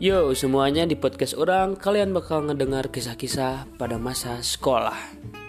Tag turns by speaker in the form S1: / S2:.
S1: Yo semuanya, di podcast orang kalian bakal ngedengar kisah-kisah pada masa sekolah.